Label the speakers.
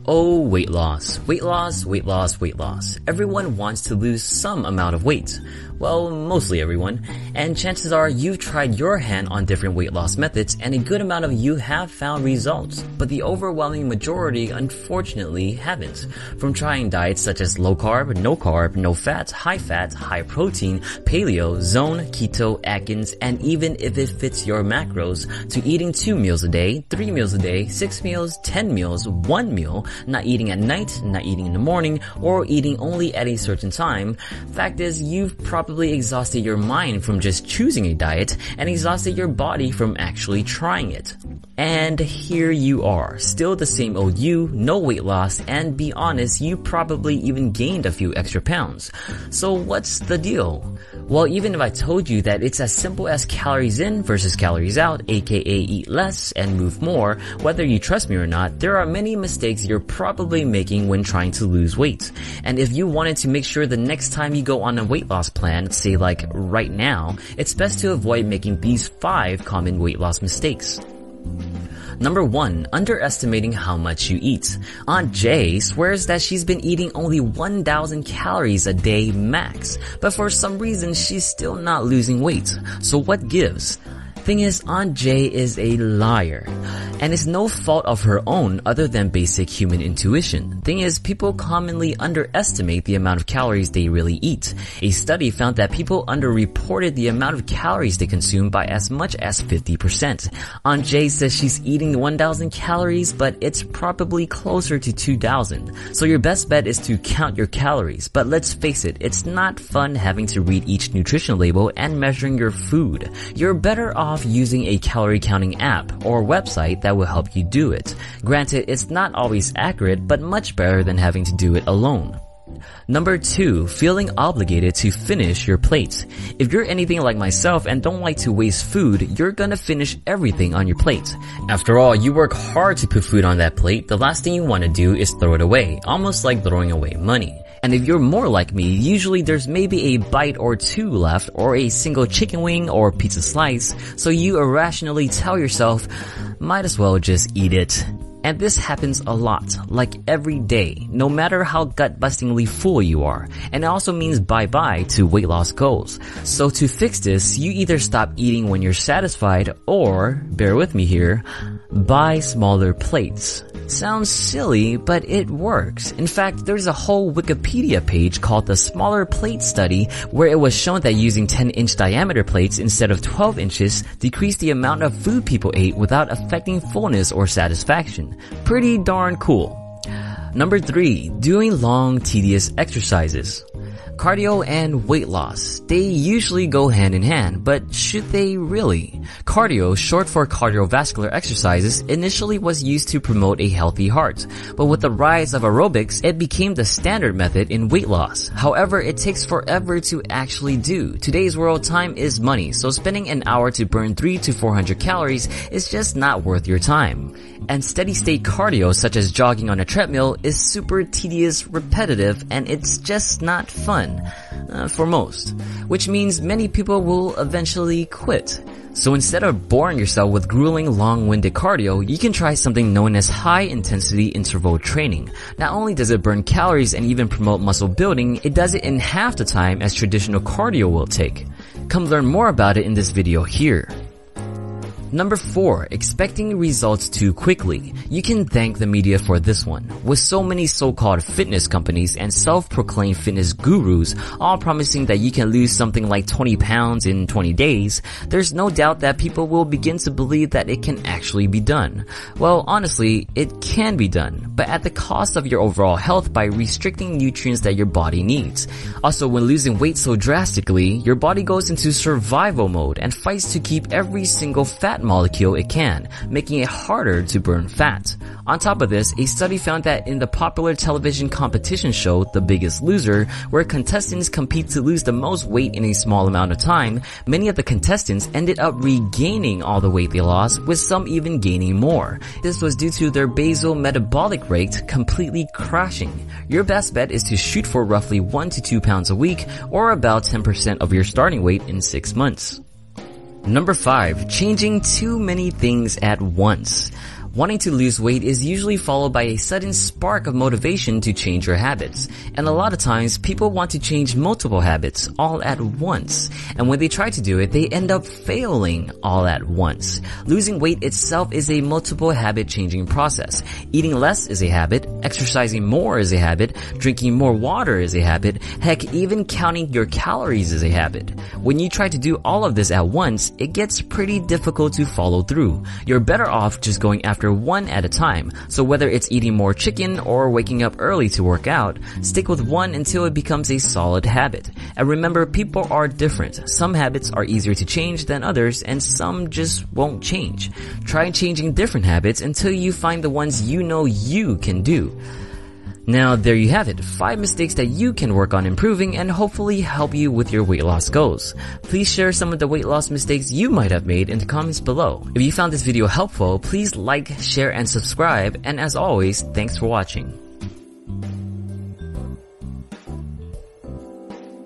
Speaker 1: Oh, weight loss. Weight loss, weight loss, weight loss. Everyone wants to lose some amount of weight. Well, mostly everyone. And chances are you've tried your hand on different weight loss methods and a good amount of you have found results. But the overwhelming majority unfortunately haven't. From trying diets such as low carb, no fat, high protein, paleo, zone, keto, Atkins, and even if it fits your macros, to eating 2 meals a day, 3 meals a day, 6 meals, 10 meals, 1 meal, not eating at night, not eating in the morning, or eating only at a certain time. Fact is, you've probably exhausted your mind from just choosing a diet and exhausted your body from actually trying it. And here you are, still the same old you, no weight loss, and be honest, you probably even gained a few extra pounds. So what's the deal? Well, even if I told you that it's as simple as calories in versus calories out, aka eat less and move more, whether you trust me or not, there are many mistakes you're probably making when trying to lose weight. And if you wanted to make sure the next time you go on a weight loss plan, say like right now, it's best to avoid making these 5 common weight loss mistakes. Number 1, underestimating how much you eat. Aunt Jay swears that she's been eating only 1,000 calories a day max, but for some reason she's still not losing weight. So what gives? Thing is, Aunt Jay is a liar. And it's no fault of her own other than basic human intuition. Thing is, people commonly underestimate the amount of calories they really eat. A study found that people underreported the amount of calories they consume by as much as 50%. Aunt Jay says she's eating 1,000 calories, but it's probably closer to 2,000. So your best bet is to count your calories. But let's face it, it's not fun having to read each nutrition label and measuring your food. You're better off using a calorie counting app or website that will help you do it. Granted, it's not always accurate, but much better than having to do it alone. Number 2, feeling obligated to finish your plate. If you're anything like myself and don't like to waste food, you're gonna finish everything on your plate. After all, you work hard to put food on that plate. The last thing you want to do is throw it away, almost like throwing away money. And if you're more like me, usually there's maybe a bite or 2 left, or a single chicken wing or pizza slice, so you irrationally tell yourself, might as well just eat it. And this happens a lot, like every day, no matter how gut-bustingly full you are. And it also means bye-bye to weight loss goals. So to fix this, you either stop eating when you're satisfied, or, bear with me here, buy smaller plates. Sounds silly, but it works. In fact, there's a whole Wikipedia page called the Smaller Plate Study, where it was shown that using 10-inch diameter plates instead of 12 inches decreased the amount of food people ate without affecting fullness or satisfaction. Pretty darn cool. Number 3, doing long, tedious exercises. Cardio and weight loss, they usually go hand in hand, but should they really? Cardio, short for cardiovascular exercises, initially was used to promote a healthy heart, but with the rise of aerobics, it became the standard method in weight loss. However, it takes forever to actually do. Today's world, time is money, so spending an hour to burn 300 to 400 calories is just not worth your time. And steady-state cardio, such as jogging on a treadmill, is super tedious, repetitive, and it's just not fun. For most. Which means many people will eventually quit. So instead of boring yourself with grueling, long-winded cardio, you can try something known as high-intensity interval training. Not only does it burn calories and even promote muscle building, it does it in half the time as traditional cardio will take. Come learn more about it in this video here. Number 4, expecting results too quickly. You can thank the media for this one. With so many so-called fitness companies and self-proclaimed fitness gurus all promising that you can lose something like 20 pounds in 20 days, there's no doubt that people will begin to believe that it can actually be done. Well, honestly, it can be done, but at the cost of your overall health by restricting nutrients that your body needs. Also, when losing weight so drastically, your body goes into survival mode and fights to keep every single fat molecule it can, making it harder to burn fat. On top of this, a study found that in the popular television competition show The Biggest Loser, where contestants compete to lose the most weight in a small amount of time, many of the contestants ended up regaining all the weight they lost, with some even gaining more. This was due to their basal metabolic rate completely crashing. Your best bet is to shoot for roughly 1 to 2 pounds a week, or about 10% of your starting weight in 6 months. Number 5, changing too many things at once. Wanting to lose weight is usually followed by a sudden spark of motivation to change your habits. And a lot of times, people want to change multiple habits all at once. And when they try to do it, they end up failing all at once. Losing weight itself is a multiple habit changing process. Eating less is a habit, exercising more is a habit, drinking more water is a habit, heck, even counting your calories is a habit. When you try to do all of this at once, it gets pretty difficult to follow through. You're better off just going after one at a time. So whether it's eating more chicken or waking up early to work out, stick with one until it becomes a solid habit. And remember, people are different. Some habits are easier to change than others, and some just won't change. Try changing different habits until you find the ones you know you can do. Now, there you have it. 5 mistakes that you can work on improving and hopefully help you with your weight loss goals. Please share some of the weight loss mistakes you might have made in the comments below. If you found this video helpful, please like, share, and subscribe. And as always, thanks for watching.